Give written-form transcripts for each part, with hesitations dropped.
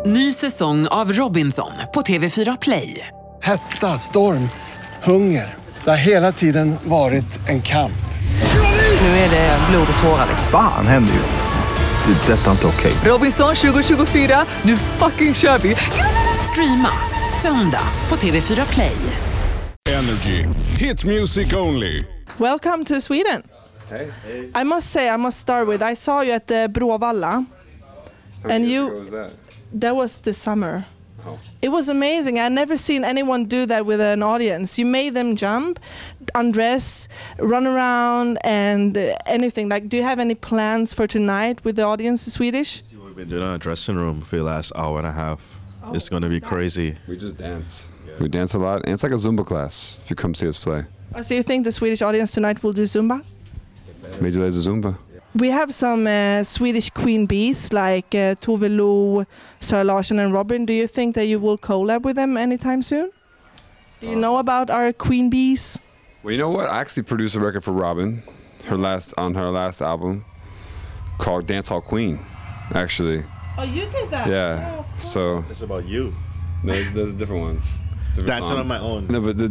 Ny säsong av Robinson på TV4 Play. Hetta, storm, hunger. Det har hela tiden varit en kamp. Nu är det blod och tårar. Fan händer just nu. Det. Detta är inte okej. Robinson 2024, nu fucking kör vi. Streama söndag på TV4 Play. Energy. Hit music only. Welcome to Sweden. Hey. I must start with, I saw you at the Bråvalla. And you, What was that? that was the summer. Oh. It was amazing. I've never seen anyone do that with an audience. You made them jump, undress, run around, and anything. Like, do you have any plans for tonight with the audience in Swedish? We've been doing in our dressing room for the last hour and a half. It's going to be crazy. We just dance. We dance a lot, and it's like a Zumba class if you come see us play. So you think the Swedish audience tonight will do Zumba? Major Lazer Zumba. We have some Swedish queen bees like Tove Lo, Sara Larsson and Robin. Do you think that you will collab with them anytime soon? Do you know about our queen bees? Well, you know what? I actually produced a record for Robin, her last album, called Dance Hall Queen. Actually, Oh, you did that? yeah. Oh, of course. So It's about you. no, there's a different one. Different Dancing song. on my own. No, but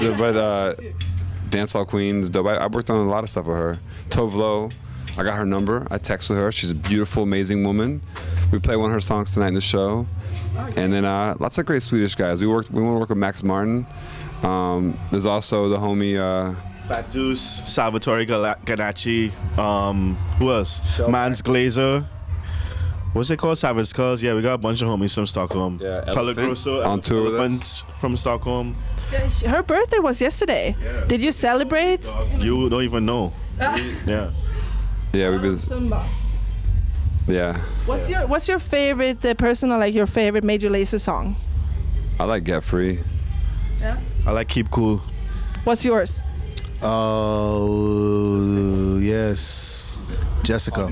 Dance Hall Queen's dope. I worked on a lot of stuff with her. Tove Lo, I got her number. I texted her. She's a beautiful, amazing woman. We play one of her songs tonight in the show. And then lots of great Swedish guys. We want to work with Max Martin. There's also the homie. Fat Deuce, Salvatore Ganacci. Who else? Mans Glazer. What's it called? Savage Cuz. Yeah, we got a bunch of homies from Stockholm. Yeah, Elephant Pellegrosso on tour with us. Elephants from Stockholm. Her birthday was yesterday. Yeah. Did you celebrate? You don't even know. Yeah. Yeah, we've been. Zumba. Yeah, What's your favorite personal, like your favorite Major Lazer song? I like Get Free. Yeah. I like Keep Cool. What's yours? Oh, yes. Jessica.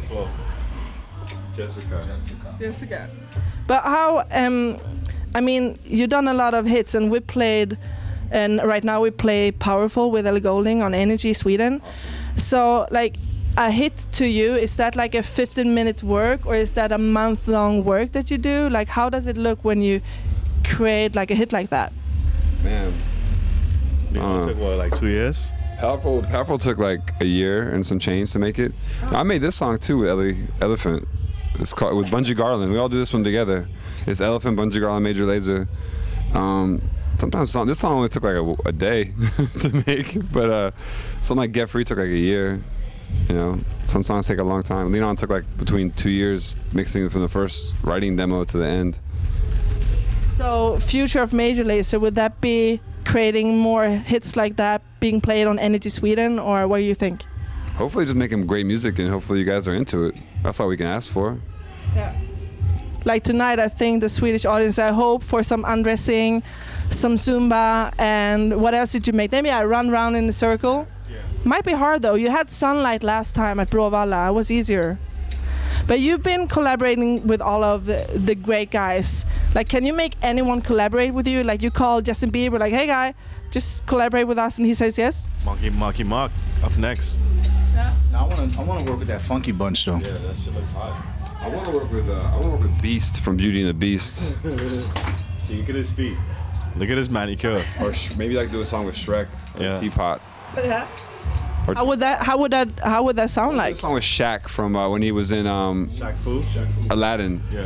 Jessica. But how? I mean, you've done a lot of hits, and we played, and right now we play "Powerful" with Ellie Goulding on Energy Sweden. So, like, a hit to you, is that like a 15-minute work, or is that a month-long work that you do? Like, how does it look when you create like a hit like that? Man, It took what, like 2 years? Powerful took like a year and some change to make it. I made this song too with Elephant. It's called with Bungie Garland. We all do this one together. It's Elephant, Bungie Garland, Major Lazer. Sometimes this song only took like a day to make, but something like Get Free took like a year. You know, some songs take a long time. Lean On took like between 2 years mixing from the first writing demo to the end. So, future of Major Lazer, would that be creating more hits like that being played on Energy Sweden, or what do you think? Hopefully just making great music, and hopefully you guys are into it. That's all we can ask for. Yeah. Like tonight, I think the Swedish audience, I hope for some undressing, some Zumba, and what else did you make? Maybe I run around in a circle. Might be hard though. You had Sunlight last time at Bråvalla. It was easier. But you've been collaborating with all of the great guys. Like, can you make anyone collaborate with you? Like, you call Justin Bieber, like, hey guy, just collaborate with us, and he says yes? Marky Mark up next. Yeah. I want to work with that funky bunch though. Yeah, that shit look hot. I want to work with Beast from Beauty and the Beast, Look at his feet. Look at his manicure. or maybe like do a song with Shrek, or Yeah. Teapot. Yeah. Or How would that sound like? a song with Shaq from when he was in Shaq Fu. Aladdin. Yeah.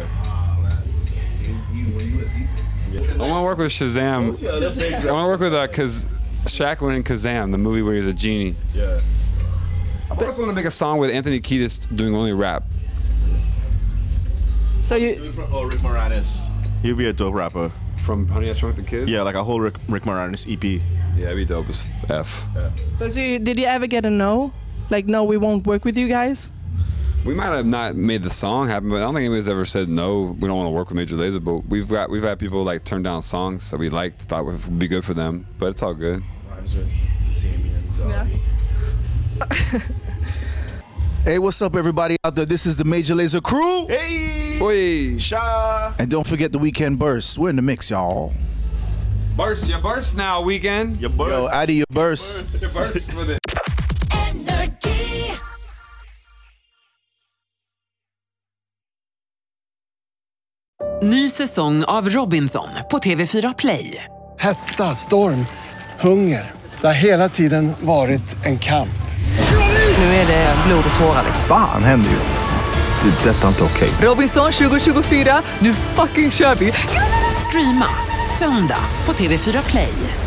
I want to work with Shazam. I want to work with cause Shaq went in Kazam, the movie where he's a genie. Yeah. I also want to make a song with Anthony Kiedis doing only rap. So you, Rick Moranis. He'll be a dope rapper. From Honey I Shrunk the Kids? Yeah, like a whole Rick Moranis EP. Yeah, that'd be dope as F. did you ever get a no? Like, no, we won't work with you guys? We might have not made the song happen, but I don't think anybody's ever said no. We don't want to work with Major Lazer, but we've had people like turn down songs that we liked, thought would be good for them, but it's all good. Yeah. Hey, what's up, everybody out there? This is the Major Lazer crew. Hey! Oi! Sha! And don't forget the Weekend Burst. We're in the mix, y'all. Burst, you burst now, Weekend. Your burst. Yo, out of your burst. You burst with it. Ny säsong av Robinson på TV4 Play. Hetta, storm, hunger. Det har hela tiden varit en kamp. Nu är det blod och tårar. Fan händer just det. Det är detta inte okej. Robinson 2024, nu fucking kör vi! Streama söndag på TV4 Play.